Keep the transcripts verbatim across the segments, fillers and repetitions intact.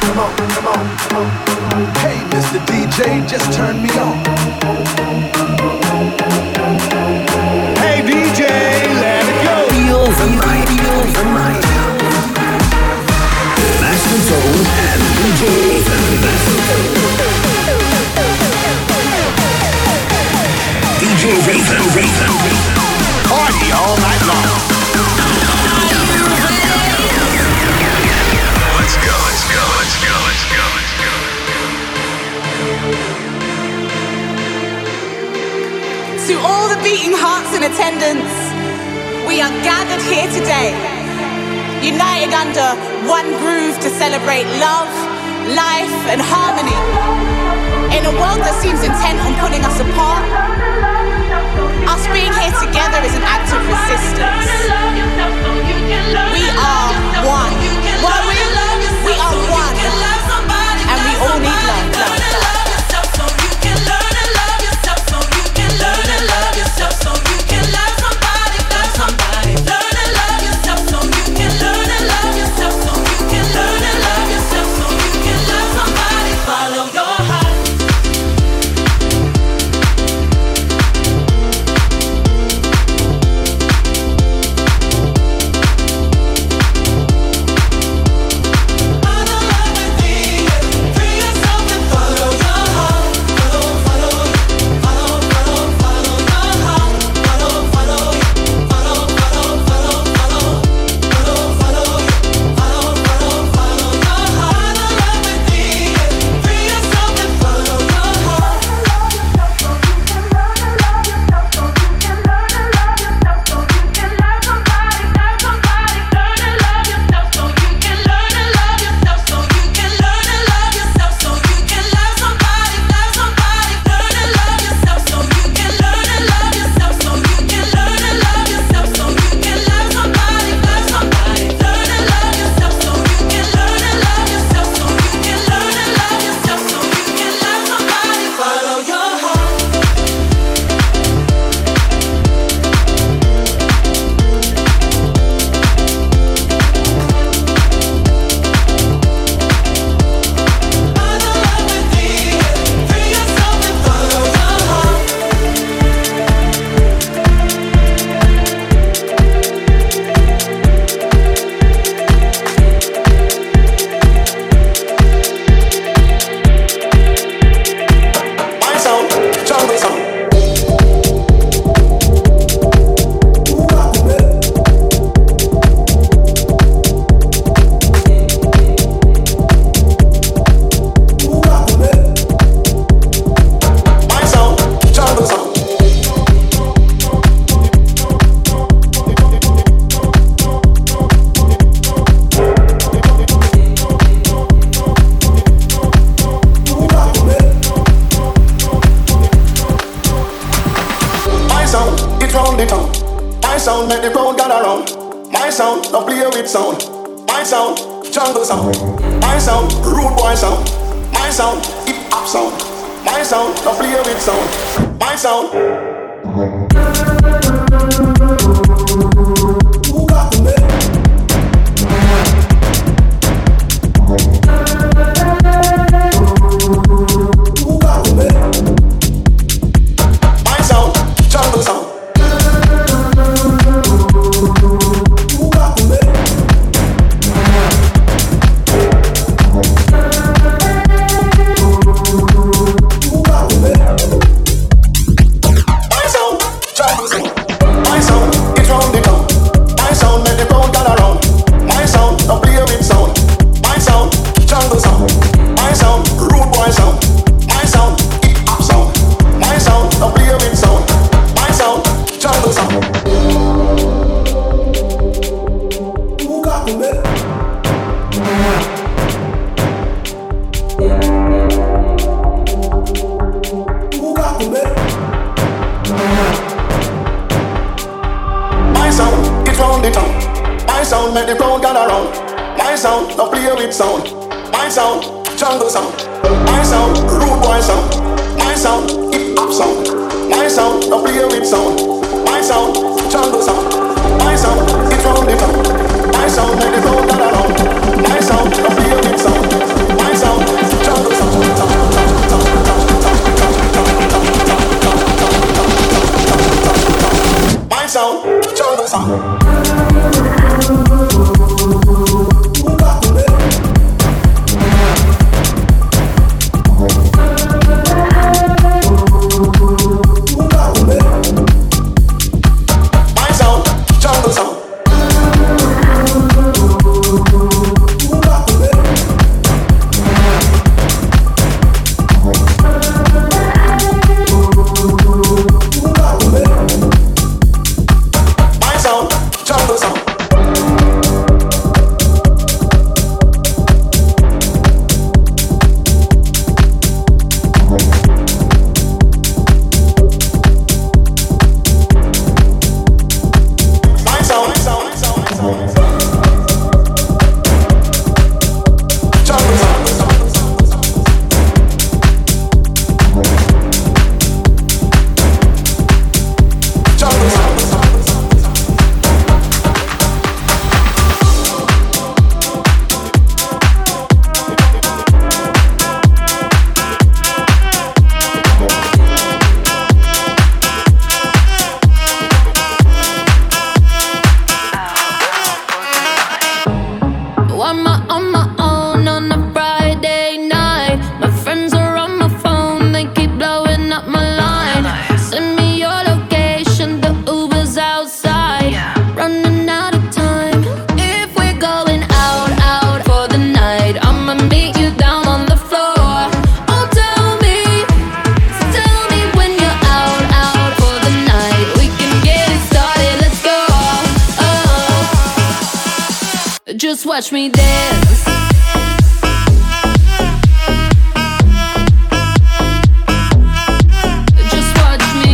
come on, come on, come on. Hey, Mister D J, just turn me on. Hey D J, let it go. Feel the night, feel the night. Master Tone and D J Ethan. D J Ethan, Ethan. Party all night long. Let's go, let's go, let's go, let's go, let's go. To all the beating hearts in attendance, we are gathered here today, united under one groove to celebrate love, life, and harmony. In a world that seems intent on pulling us apart, us being here together is an act of resistance. We are one. Well, we, we are one. And we all need love, love, love. My sound, make the crowd gather round. My sound, a play with sound. My Just watch me dance. Just watch me.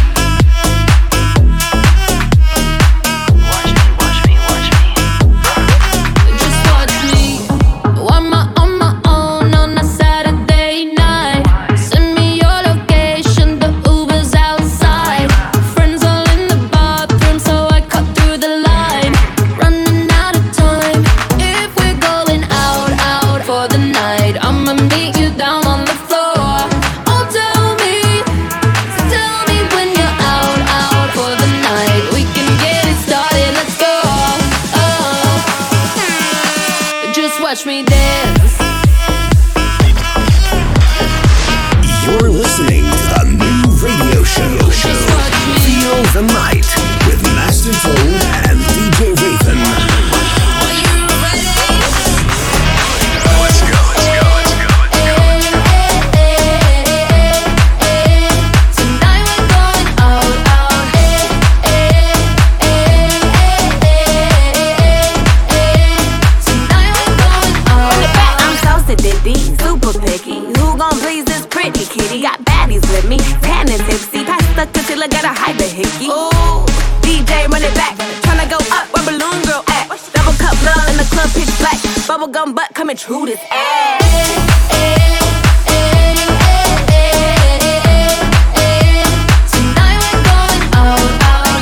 Watch me, watch me, watch me. Just watch me. I'm on my own on a Saturday night. Send me your location, the Uber's outside. Friends all in the bathroom, so I cut through the line. Running out of time. If we're going out, out for the night, I'ma meet you down on the floor. Oh, tell me, tell me when you're out, out for the night. We can get it started, let's go. Oh, just watch me dance. You're listening to the new radio show. Just watch me. Feel the Night with Master Fold and D J Raven. Are you ready? Let's go, let's go, let's go, let's go. Tonight we're going out, out. Tonight we're going out, out. I'm so sedity, super picky. Who gon' please this pretty kitty? Got baddies with me, tan and tipsy. Pass the concealer, got a hyper hickey. Ooh, D J run it back. Tryna go up where Balloon Girl at. Double cup love in the club, pitch black. Bubblegum butt coming true this ass. Tonight we're going out, out.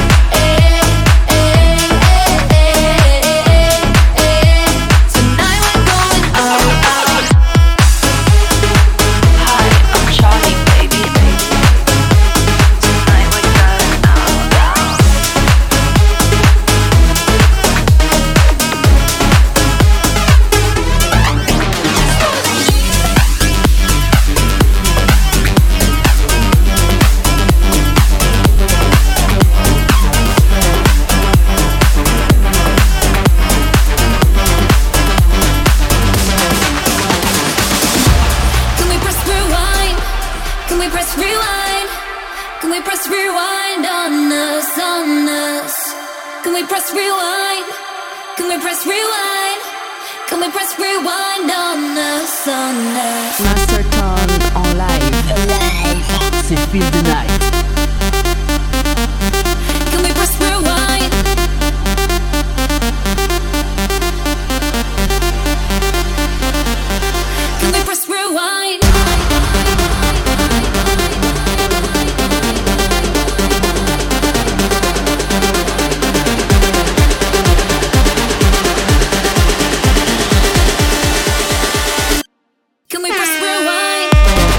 Tonight we're going out, out. Hi, I'm Charlie, baby. Tonight we're going out, out. Can we press rewind? Can we press rewind? Can we press rewind on us, on us? Can we press rewind? Can we press rewind? Can we press rewind on us, on us? Master Tone en live. C'est Feel the Night. Can we press rewind? Can we press rewind? Can we press rewind?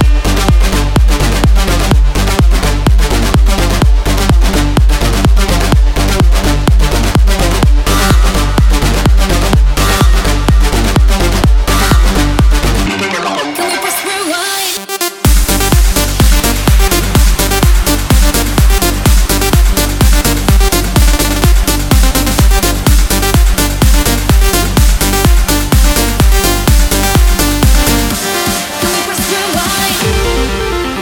Can we press rewind? Can we press rewind?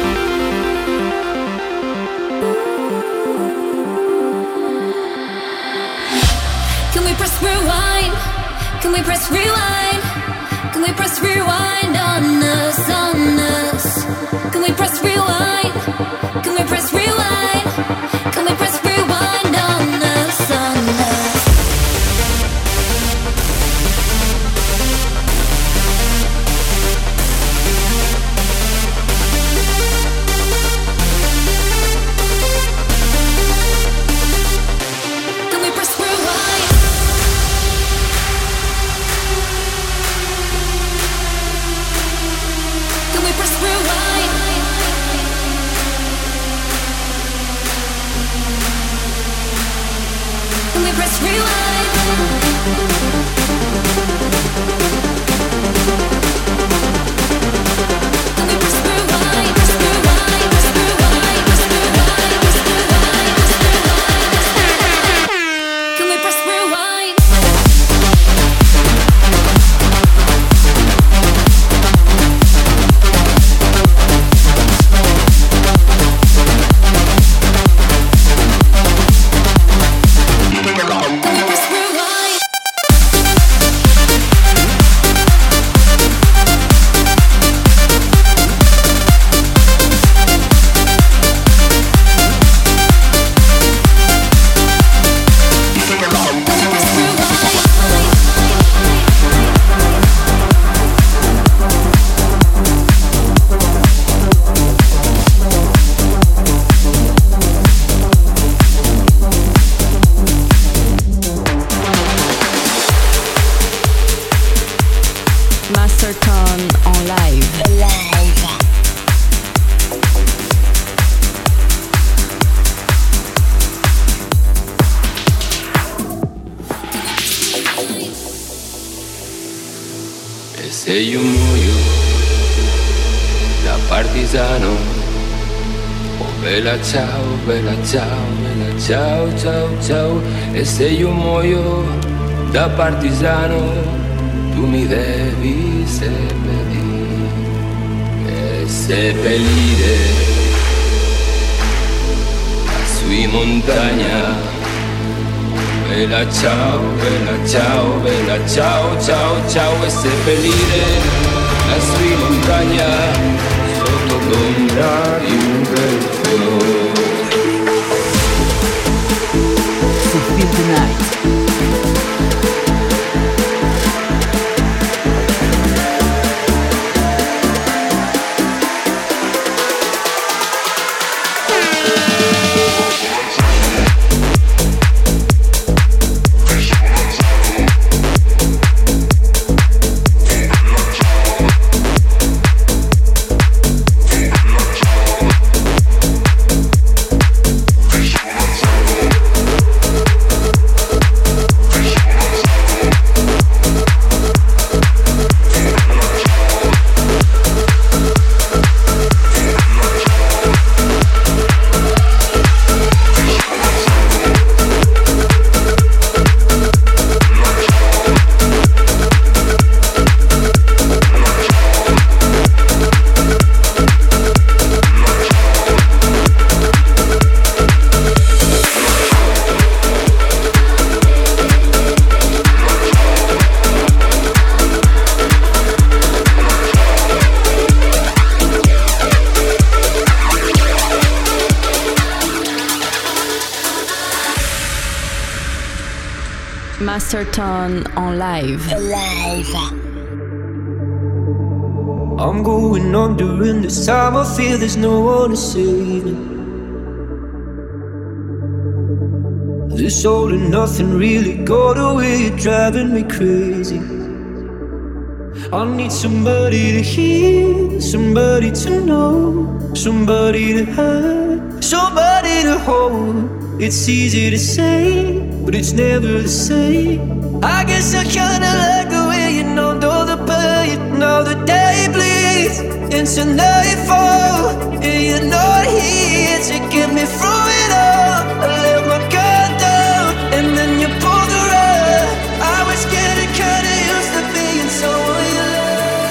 Can we press rewind? Can we press rewind? Can we press rewind on us, on us? Can we press rewind? Can we press rewind? Can we press rewind on us, on us? Can we press rewind? Can we press rewind? Se io muoio da partigiano, oh bella ciao, bella ciao, bella ciao, ciao, ciao. E se io muoio da partigiano, tu mi devi seppellire, e seppellire su in montagna. Bella ciao, bella ciao, bella ciao, ciao, ciao. E seppellire lassù in montagna sotto l'ombra di un bel fiore. So feel the night. Masterton en live. Live. I'm going on during this time. I feel there's no one to save me. This all and nothing really got away. You're driving me crazy. I need somebody to hear, somebody to know, somebody to have, somebody to hold. It's easy to say, but it's never the same. I guess I kinda like the way you know, know the pain. Now the day bleeds into nightfall, and you're not here to get me through it all. I let my guard down, and then you pulled the rug. I was getting kinda used to being someone you love.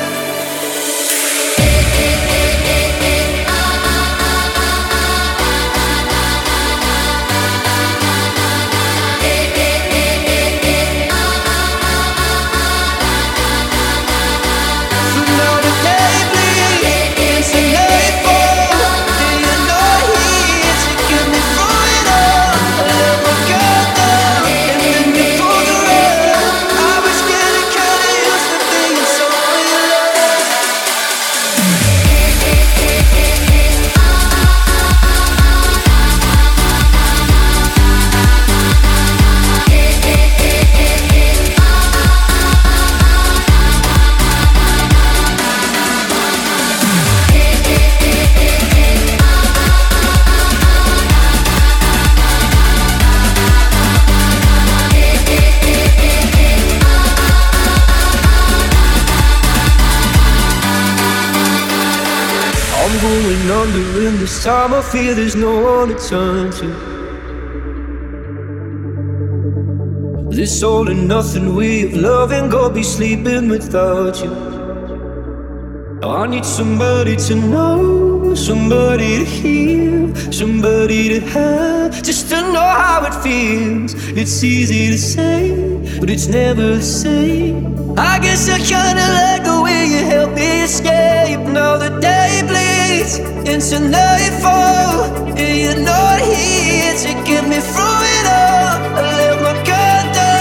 In this time I feel there's no one to turn to. This all and nothing way of loving, go be sleeping without you. I need somebody to know, somebody to hear, somebody to have, just to know how it feels. It's easy to say, but it's never the same. I guess I kinda like the way you help me escape. Now the day bleeds into nightfall, and you're not here to get me through it all. I let my guard down.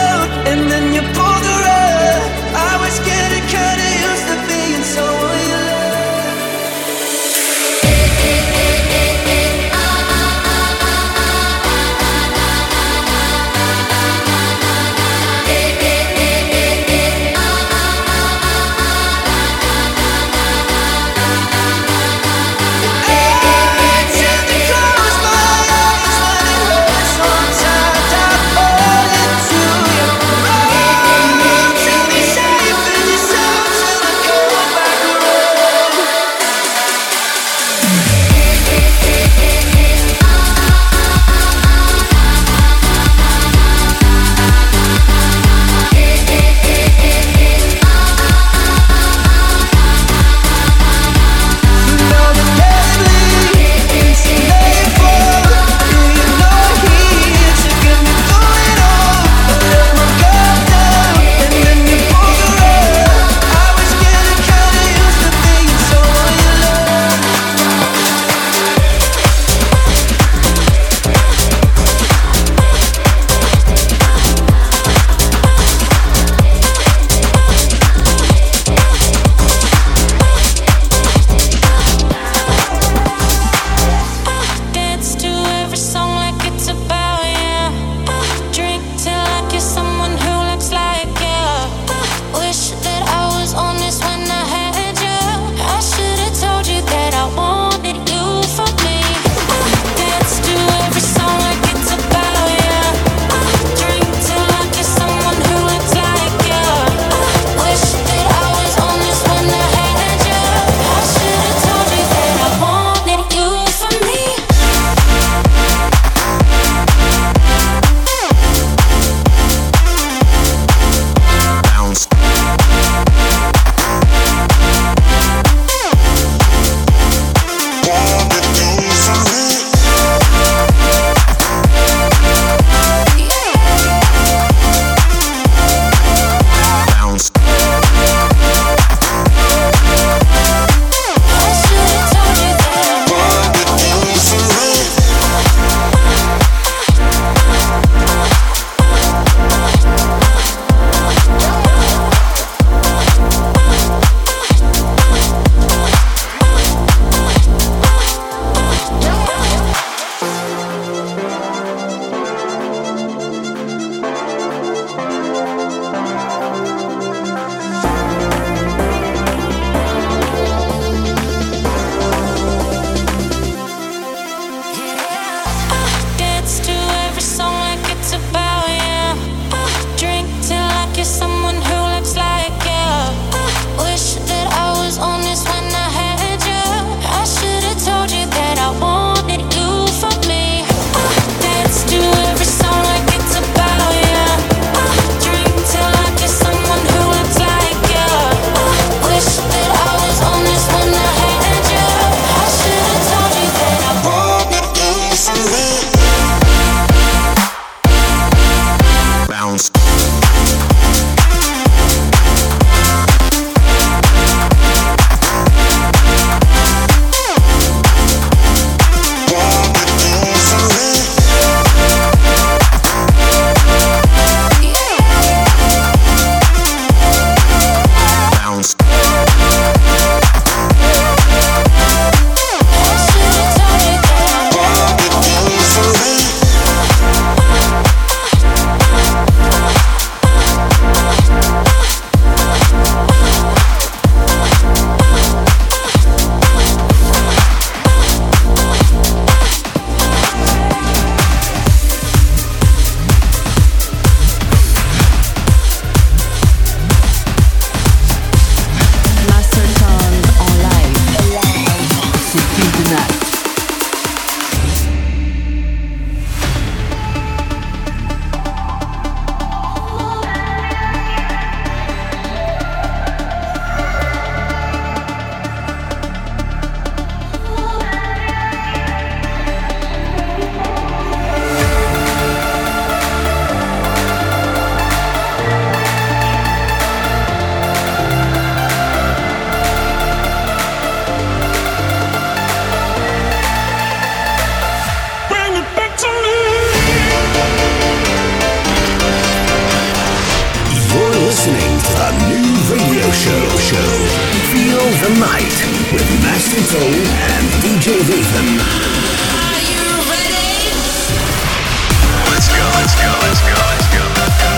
new radio show. Show. Feel the night with Master Tone and D J Raven. Are you ready? Let's go, let's go, let's go, let's go, let's go.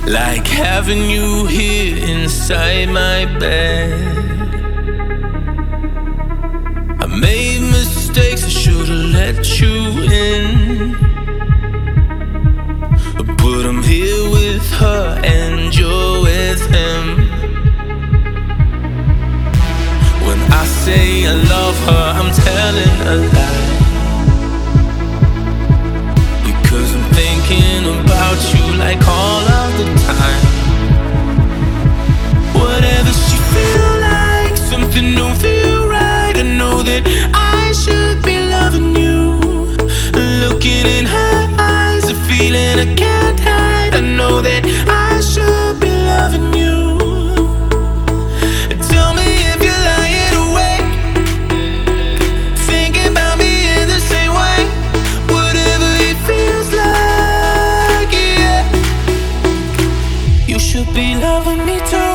Like having you here inside my bed. I made mistakes, I should've let you in, but I'm here with her and you're with him. When I say I love her, I'm telling a lie, because I'm thinking about you like all of the time. Whatever she feel like, something don't feel right. I know that I should be loving you. Looking in her eyes, a feeling I can't hide. I know that I should be loving you. Tell me if you're lying awake, thinking about me in the same way. Whatever it feels like, yeah. You should be loving me too.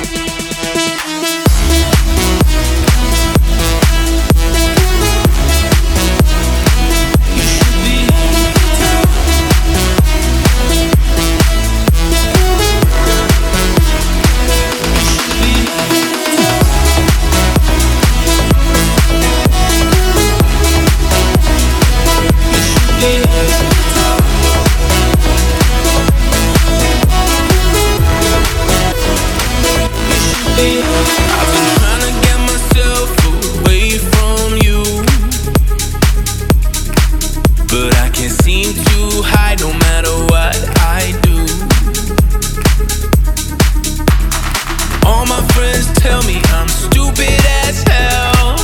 I've been trying to get myself away from you, but I can't seem to hide no matter what I do. All my friends tell me I'm stupid as hell,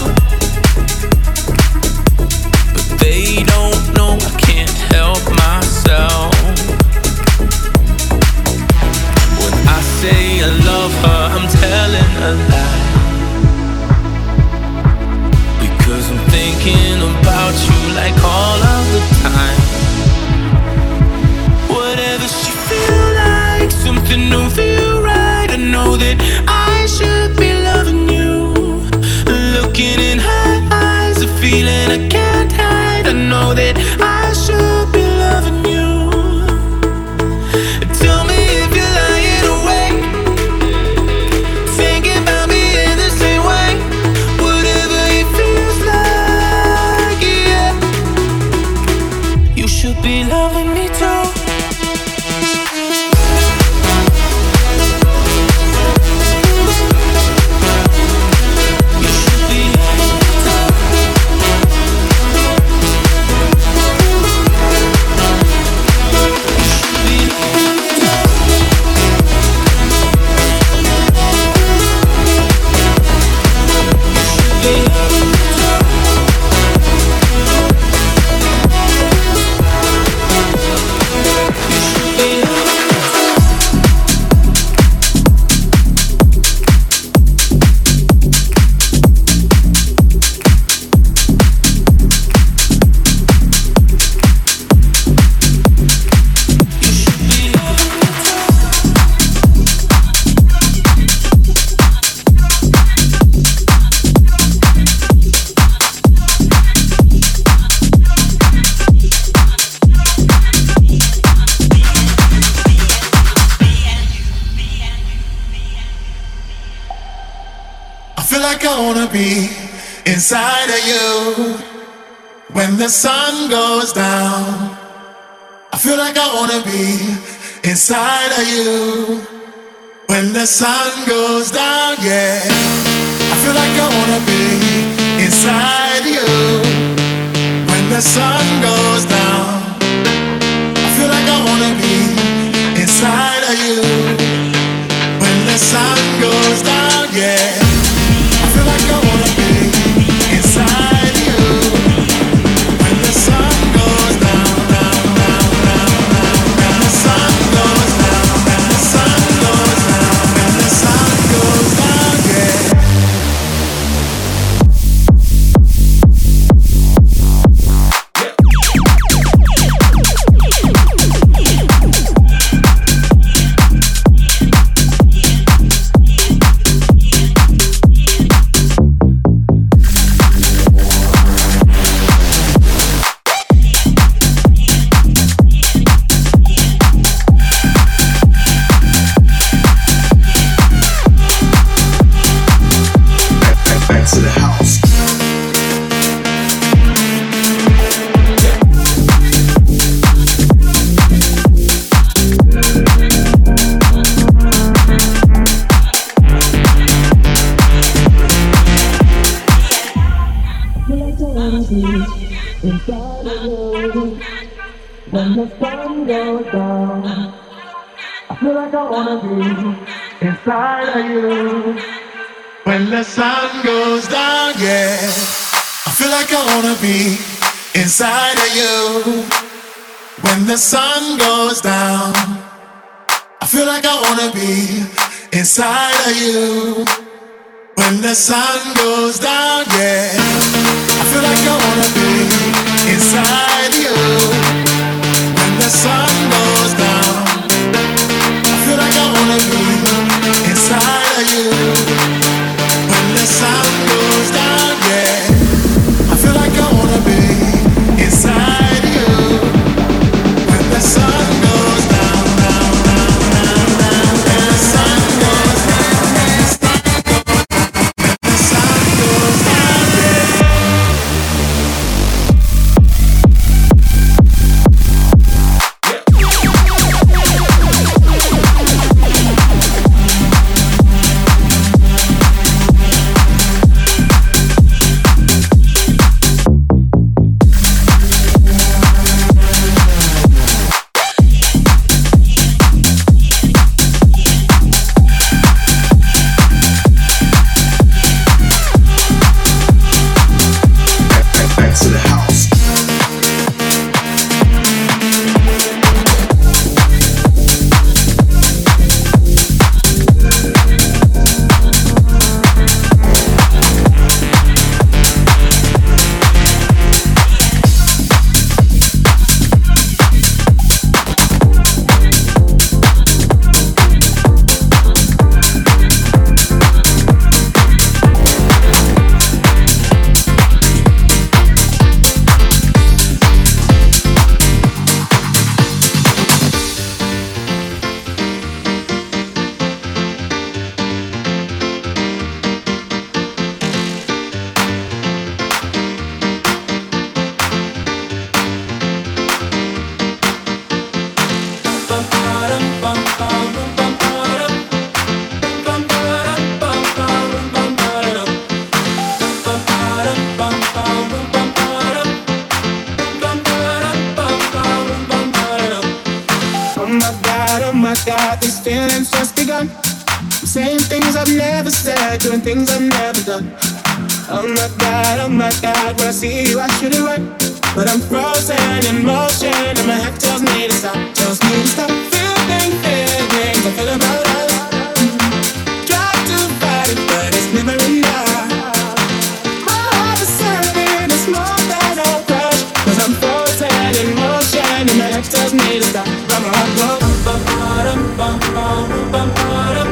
but they don't know I can't help myself. When I say I love her, I'm telling a lie, because I'm thinking about you like all of the time. Whatever she feel like, something don't feel right. I know that I should be loving you. Looking in her eyes, a feeling I can't hide. I know that I should be loving you. Tell me if you're lying awake, thinking about me in the same way. Whatever it feels like, yeah. You should be loving me too. You should be loving me too. Be inside of you when the sun goes down. I feel like I wanna be inside of you when the sun goes down, yeah. I feel like I wanna be inside you when the sun goes down. I feel like I wanna be inside of you when the sun goes down, yeah. I feel like I wanna be inside you when the sun goes down, down, down, down, down. When the sun goes down, when the sun goes down, when the sun goes down, yeah. When the sun goes down, I feel like I wanna be inside of you. When the sun goes down, yeah, I feel like I wanna be inside of you. When the sun goes down, I feel like I wanna be inside of you. When the sun goes down, yeah, I feel like I wanna be inside you. When the sun goes down, I feel like I wanna be inside of you. When the sun goes down, yeah, I feel like I wanna be inside you. When the sun goes down, down, down, down, down, when the sun goes down, when the sun goes down, yeah. Doing things I've never done. Oh my God, oh my God, when I see you I should it right, but I'm frozen in motion and my head tells me to stop, tells me to stop. Feeling feelings I feel about us. Try to fight it, but it's never enough. My heart is serving, it's more than a crush, cause I'm frozen in motion and my head tells me to stop. But my heart goes bum bum bum bum bum bum.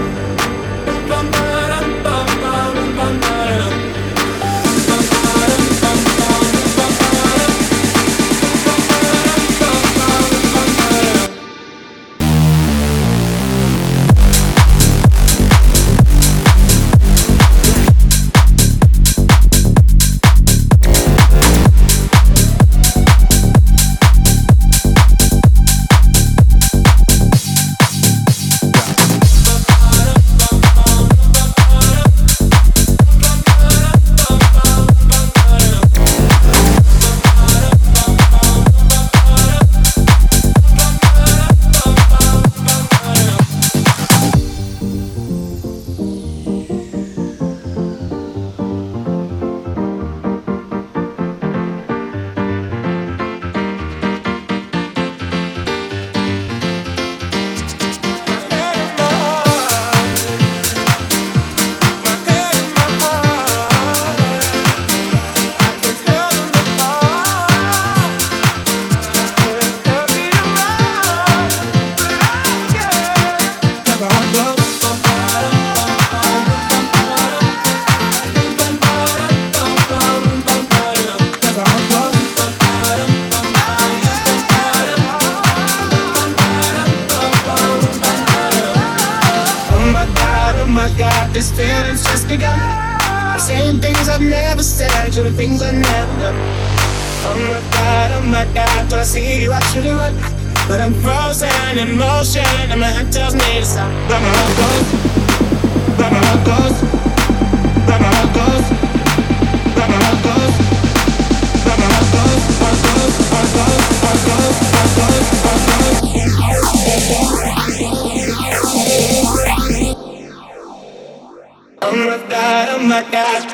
This feeling's just begun. I'm saying things I've never said, doing things I've never done. Oh my God, oh my God, when I see you I should it right, but I'm frozen in motion and my head tells me to stop. But my heart goes, but my heart goes, but my heart goes, but my heart goes, but my heart goes, heart goes, heart goes, heart goes, heart goes. God, oh my God.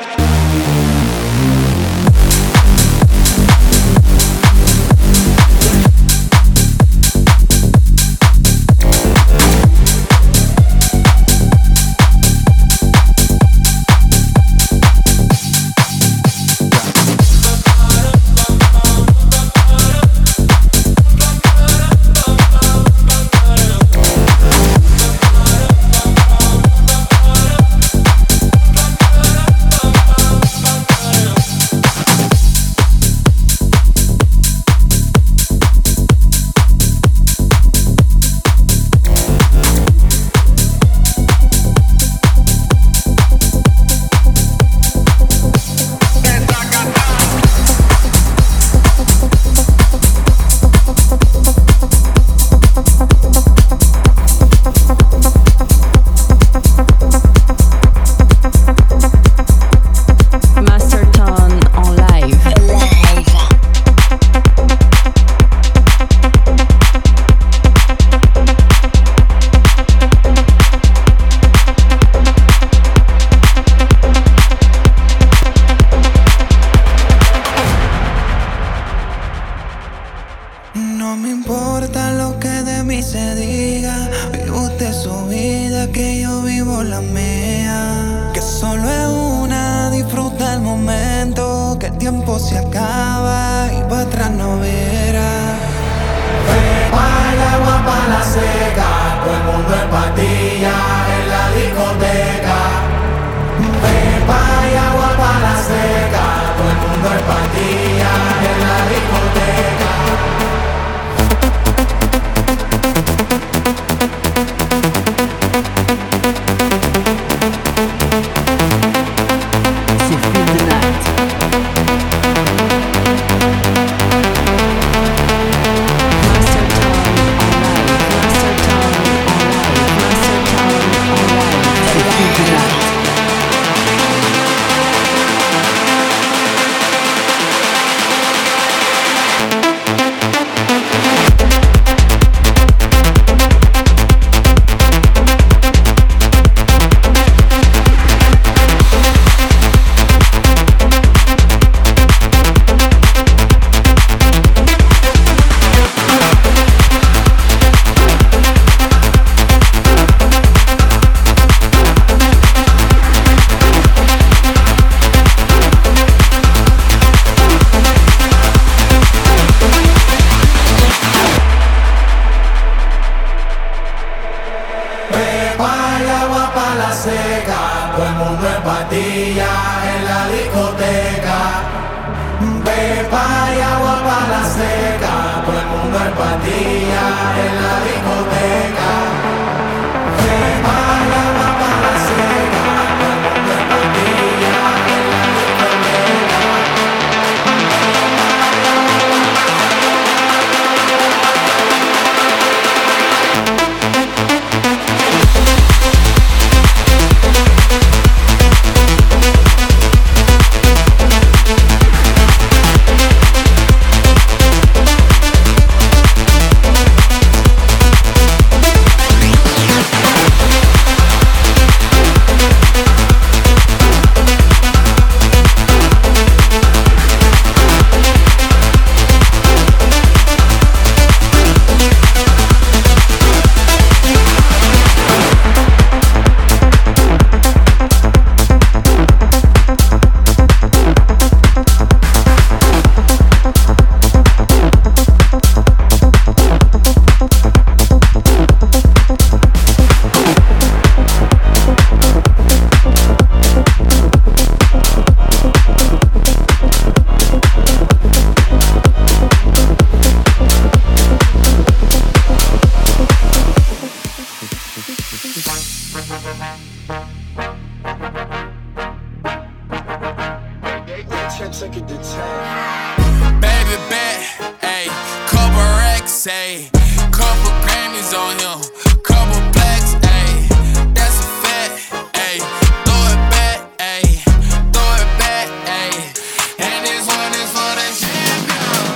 Say, couple Grammys on him, couple blacks, ayy, that's a fact, ayy, throw it back, ayy, throw it back, ayy, and this one is for the champion,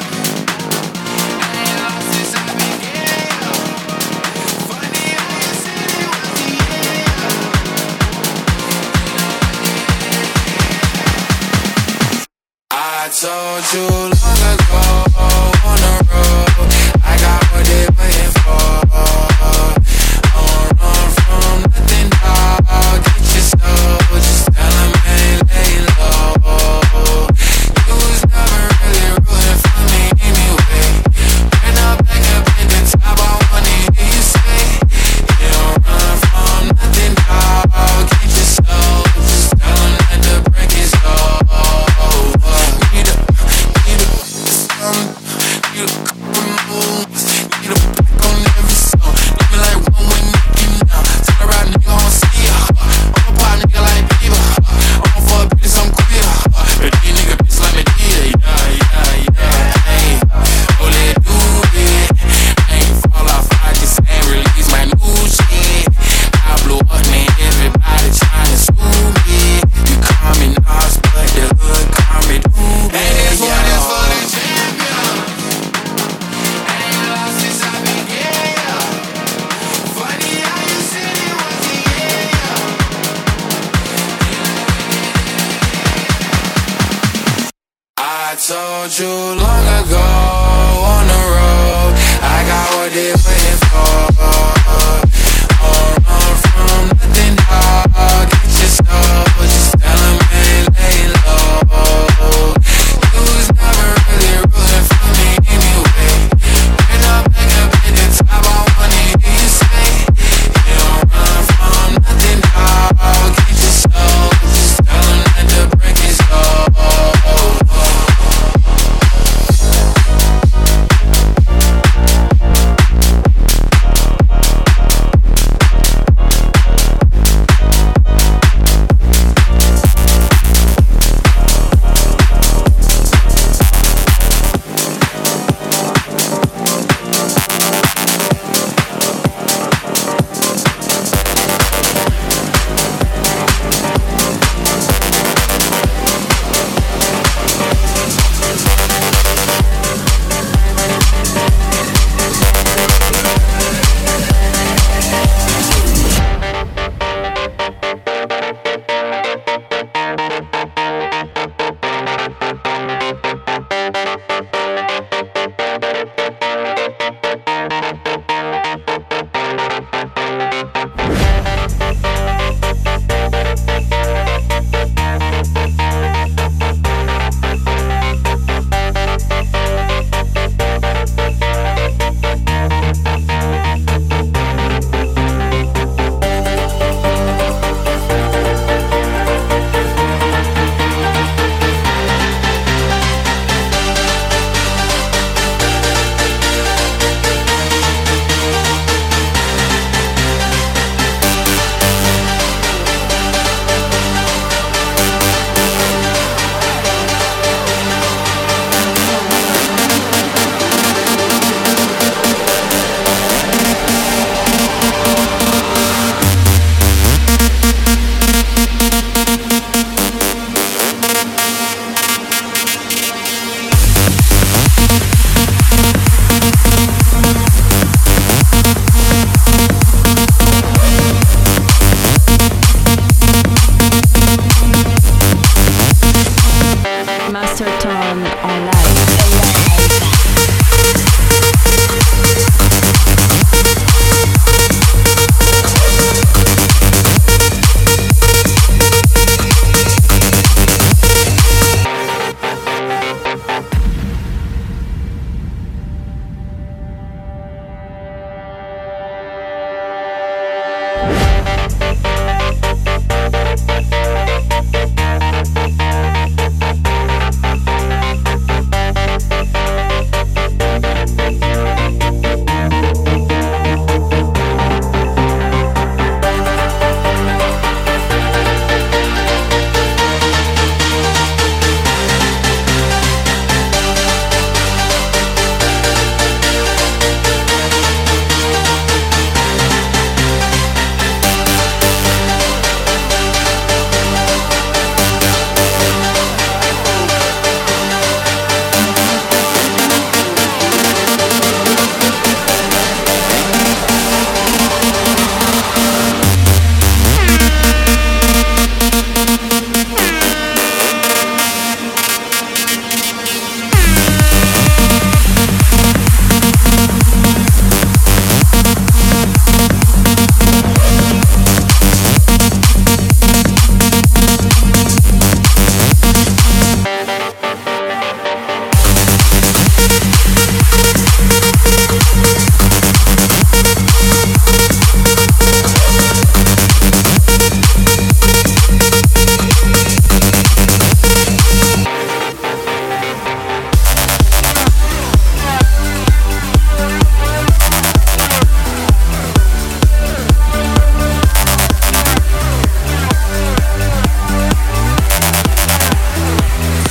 I ain't lost since I began, funny how you said it was the end,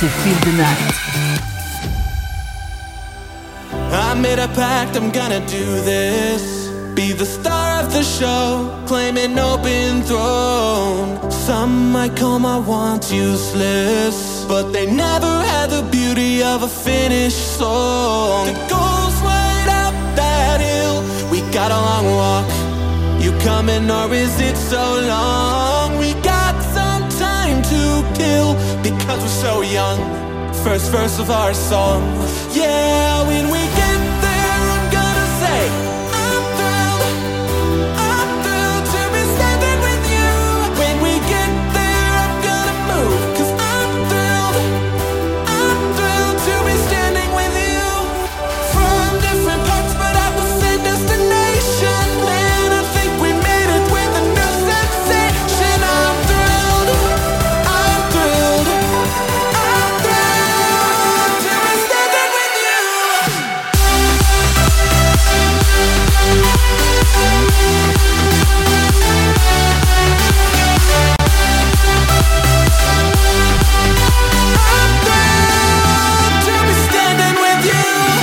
c'est Feel the Night. I made a pact, I'm gonna do this. Be the star of the show, claim an open throne. Some might call my wants useless, but they never had the beauty of a finished song. The goal's right up that hill, we got a long walk. You coming or is it so long? We got some time to kill, because we're so young. First verse of our song. Yeah, when we get there, I'm gonna say I'm thrilled, I'm thrilled to be standing with you. When we get there, I'm gonna move, cause I'm thrilled, I'm thrilled to be standing with you. From different parts, but at the same destination. Man, I think we made it with a new sensation. I'm thrilled, I'm thrilled, I'm thrilled to be standing with you. I'm thrilled to be standing with you.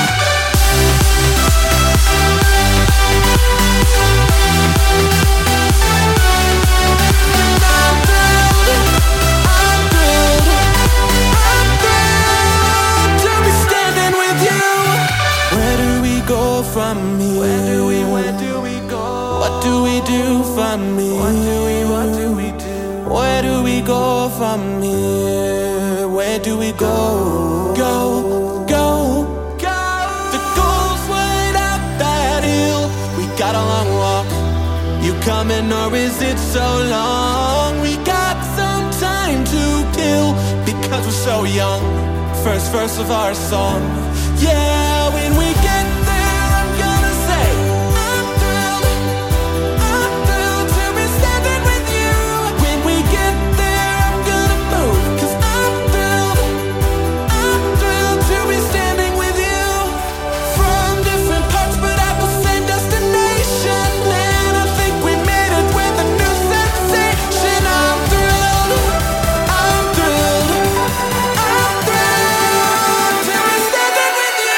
I'm thrilled, I'm thrilled, I'm thrilled to be standing with you. Where do we go from here? Where do we, where do we go? What do we do from here? What do we, what do we do? Where do we go from here? Where do we go? Go, go, go. The goal's right up that hill, we got a long walk. You coming or is it so long? We got some time to kill, because we're so young. First verse of our song. Yeah, when we get there, I'm gonna say I'm thrilled, I'm thrilled to be standing with you. When we get there, I'm gonna move, cause I'm thrilled, I'm thrilled to be standing with you. From different parts, but at the same destination. Man, I think we made it with a new sensation. I'm thrilled, I'm thrilled, I'm thrilled to be standing with you.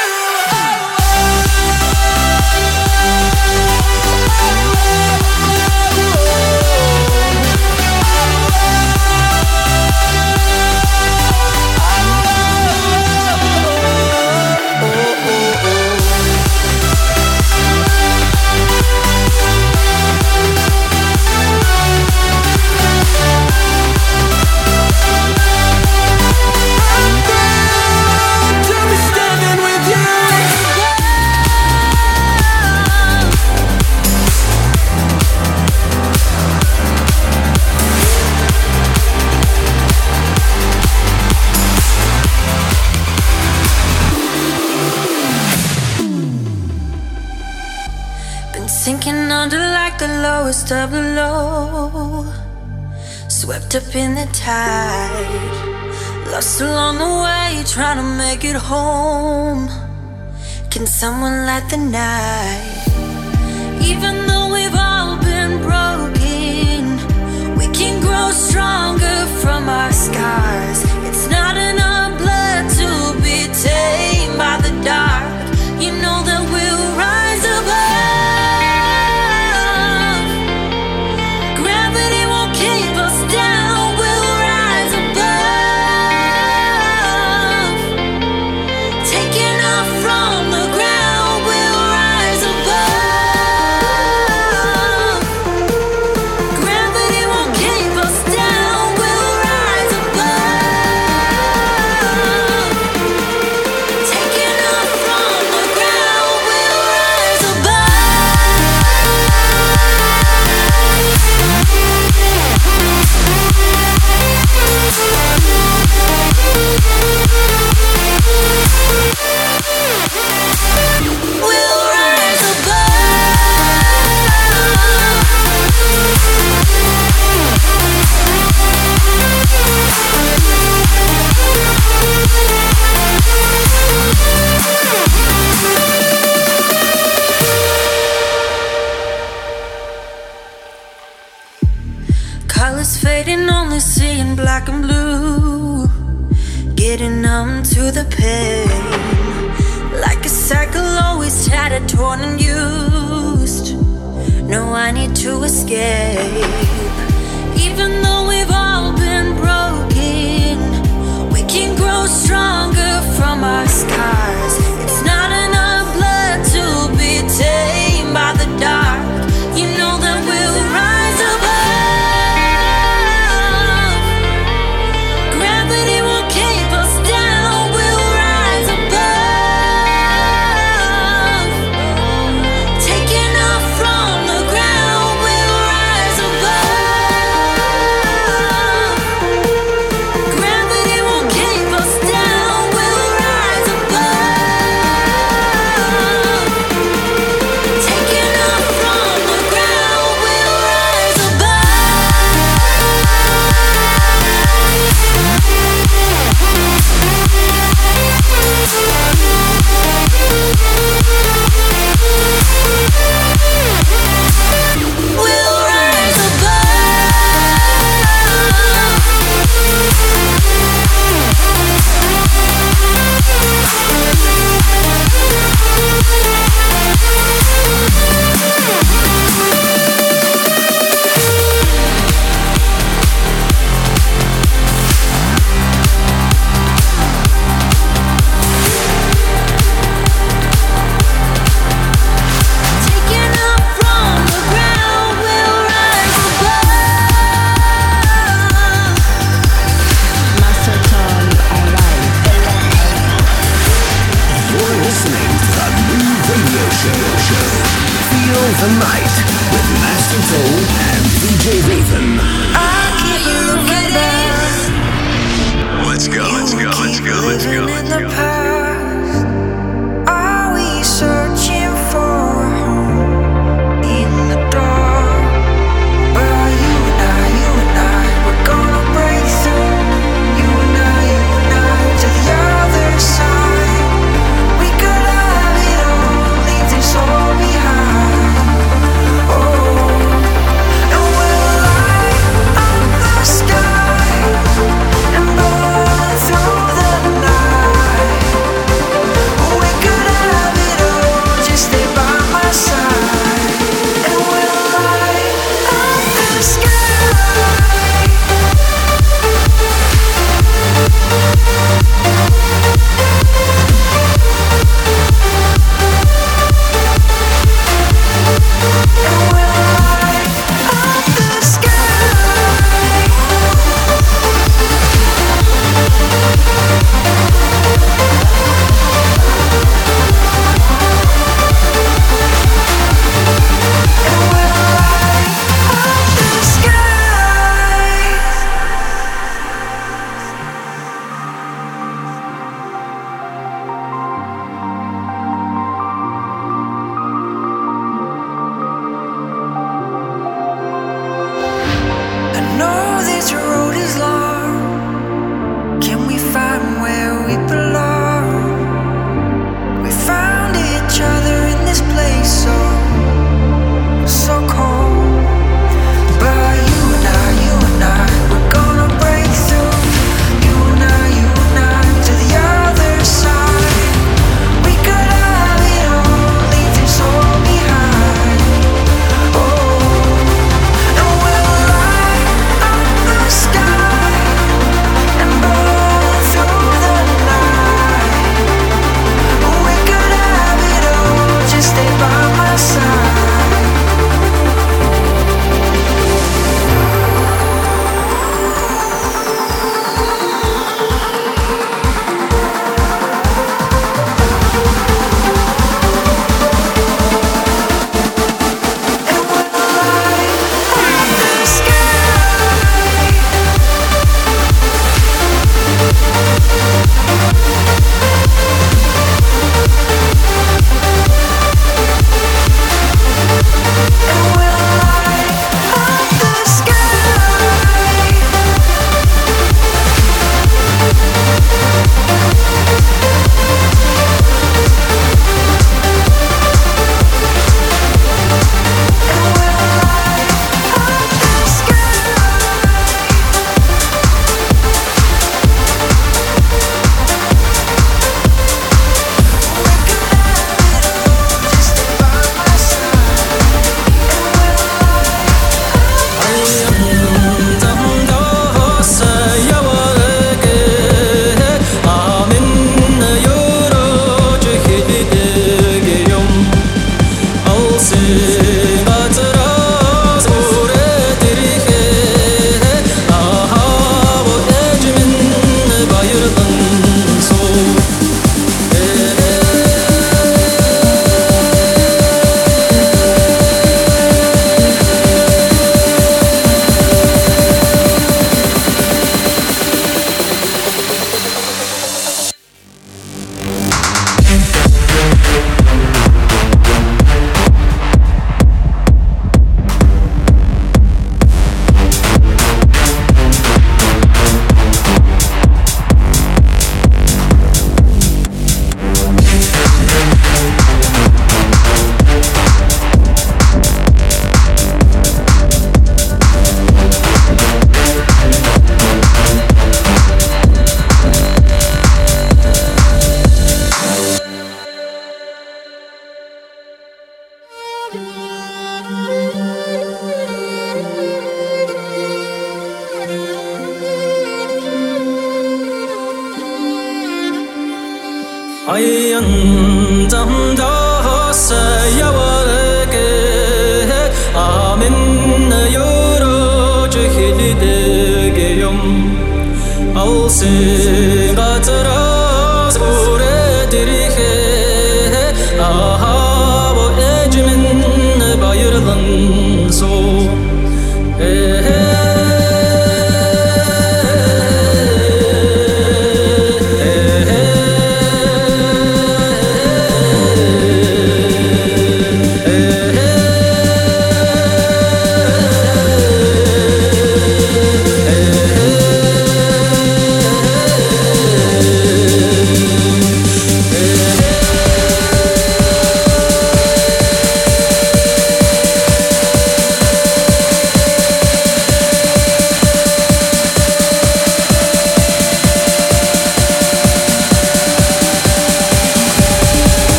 To be standing with you. Been sinking under like the lowest of the low, swept up in the tide, lost along the way, trying to make it home. Can someone light the night? Even though we've all been broken, we can grow stronger from our scars. It's not in our blood to be tamed by the dark. You know that we'll rise above. Gravity won't keep us down. We'll rise above. Taking off from the ground, we'll rise above. Gravity won't keep us down. We'll rise above. Taking off from the ground, we'll rise above. We'll rise colors fading, only seeing black and blue. getting numb to the pain. Like a cycle always tattered, torn and used. No, I need to escape. Even though we've all been broken, we can grow stronger from our scars. It's not in our blood to be tamed by the dark. You know that we'll rise above. Gravity won't keep us down. We'll rise above. Taking off from the ground. We'll rise above. Gravity won't keep us down. We'll rise above. Taking off from the ground. We'll rise We'll rise You're listening to the new radio show. show. Feel the night with Master Toe and D J Raven. Let's go, let's go, let's go, let's go, let's go. Are we searching for a home in the dark? Well, you and I, you and I, we're gonna break through. You and I, you and I, to the other side. We could have it all, leave this all behind. Oh, and we'll light up the sky and burn through the night.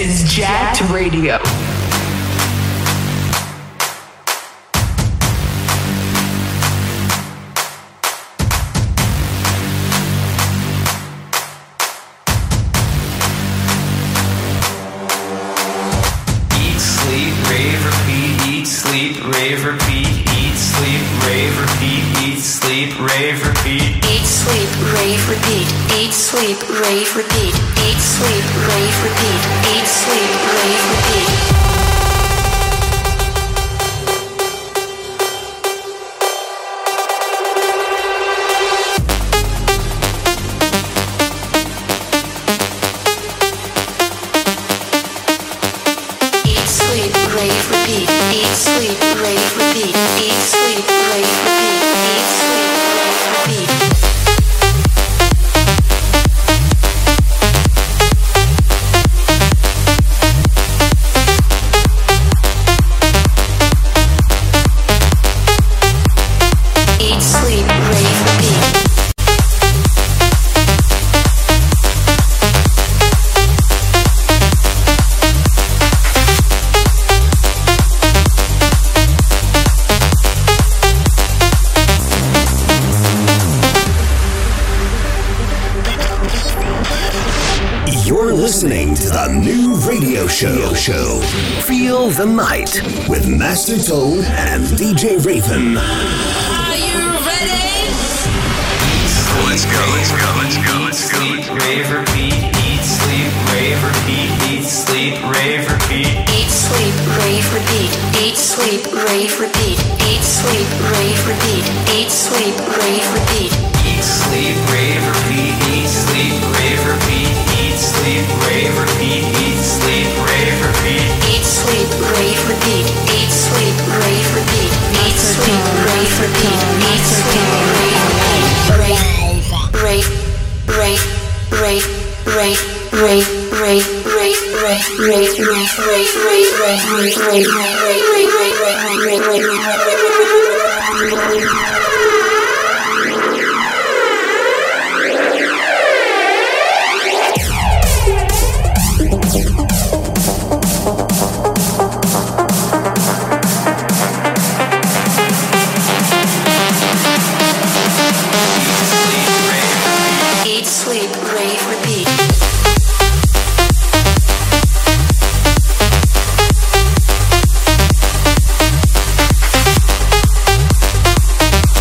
is Jacked Radio. Sleep, rave, repeat, eat, sleep, rave, repeat, eat, sleep, rave, repeat. Eat, sleep, rave, repeat. Eat, sleep, rave, repeat. Eat, sleep, rave, repeat. Eat, sleep, rave, repeat. Show, show. Feel the night with Master Tone and D J Raven. Are you ready? Let's go, let's go, let's go, let's go. Sleep, rave, repeat, eat, sleep, rave, repeat, eat, sleep, rave, repeat. Eat, sleep, rave, repeat. Eat, sleep, rave, repeat. Eat, sleep, rave, repeat. Eat, sleep, rave, repeat. Eat, sleep, rave, repeat, eat, sleep, rave, repeat. Eat, sleep, rave, repeat, eat, sleep, rave, repeat. Eat, sleep, rave, repeat. Eat, sleep, rave, repeat. Eat, sleep, rave, repeat. Eat, sleep, rave, repeat. Rave, rave, rave, rave, rave, rave, rave, rave, rave, rave, rave, rave, rave, rave, rave, rave, rave, rave, rave, rave. Sleep,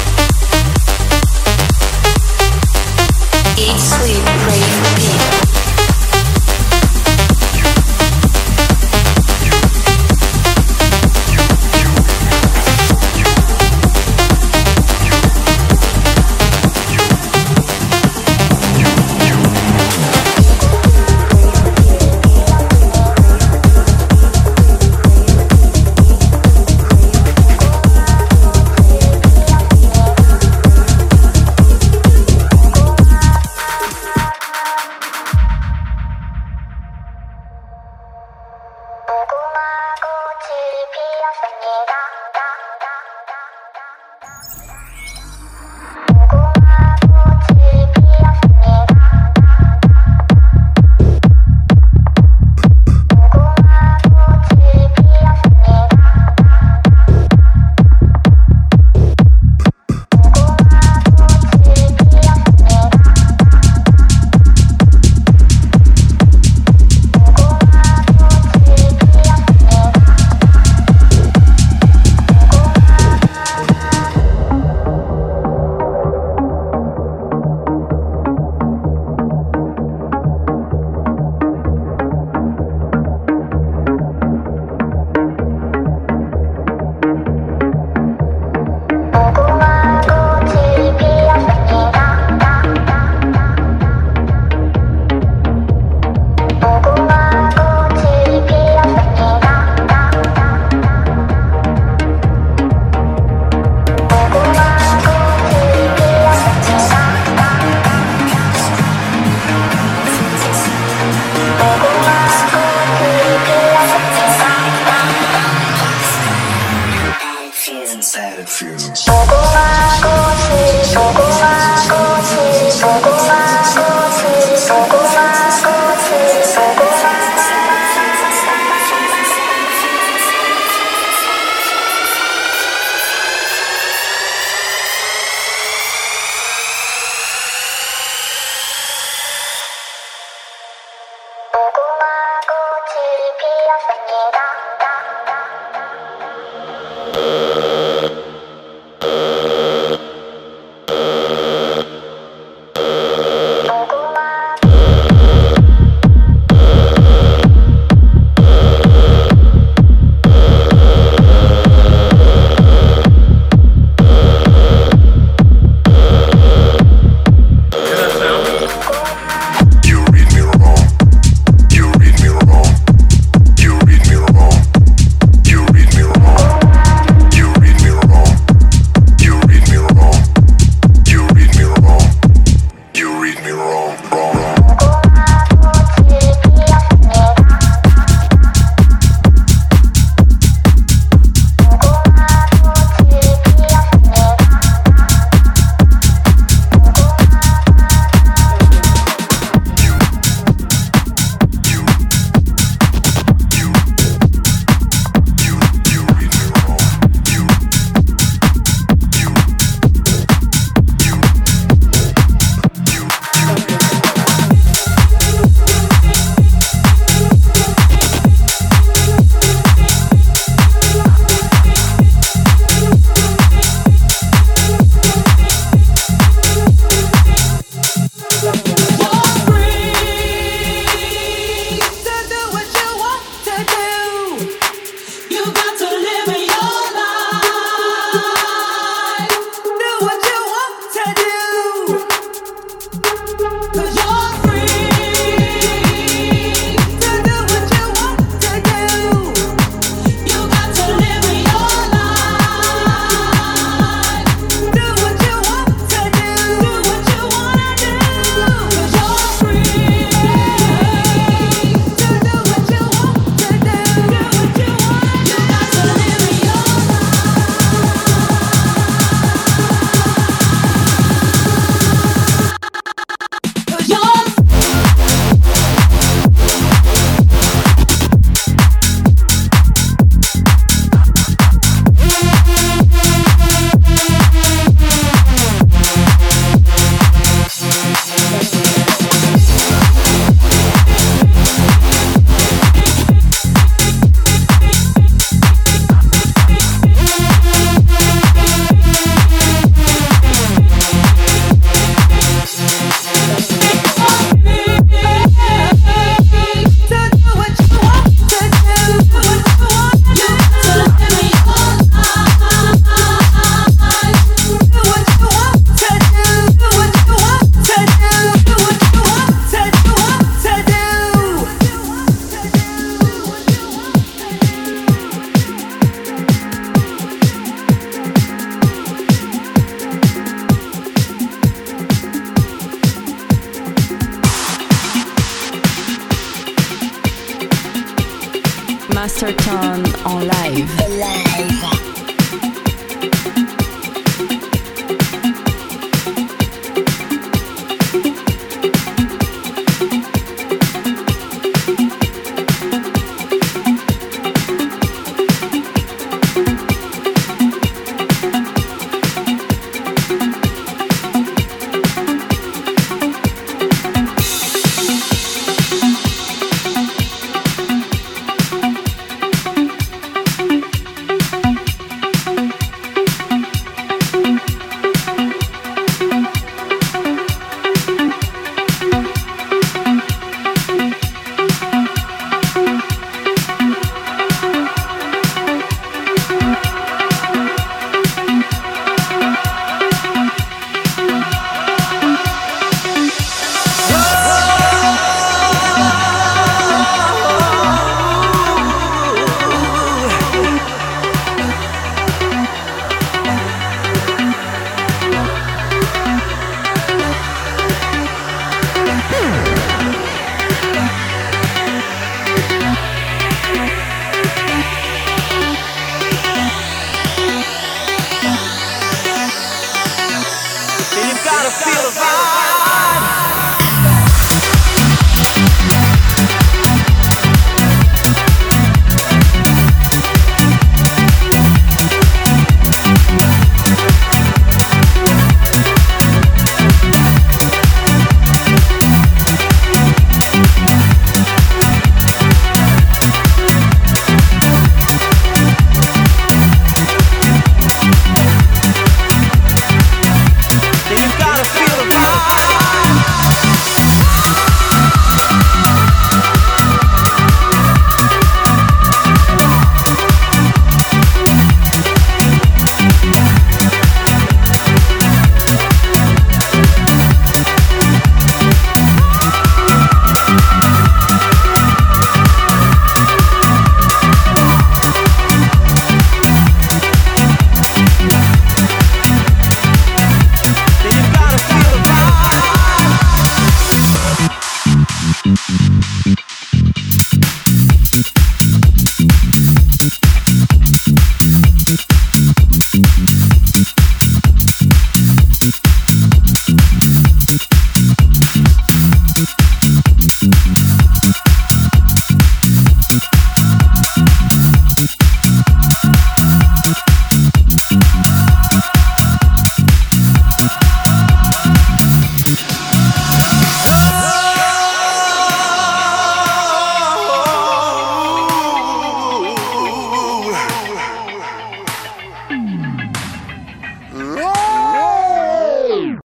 Masterton en live. live.